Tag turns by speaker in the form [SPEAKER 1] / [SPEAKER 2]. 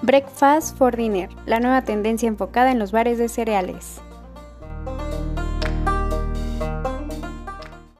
[SPEAKER 1] Breakfast for Dinner, la nueva tendencia enfocada en los bares de cereales.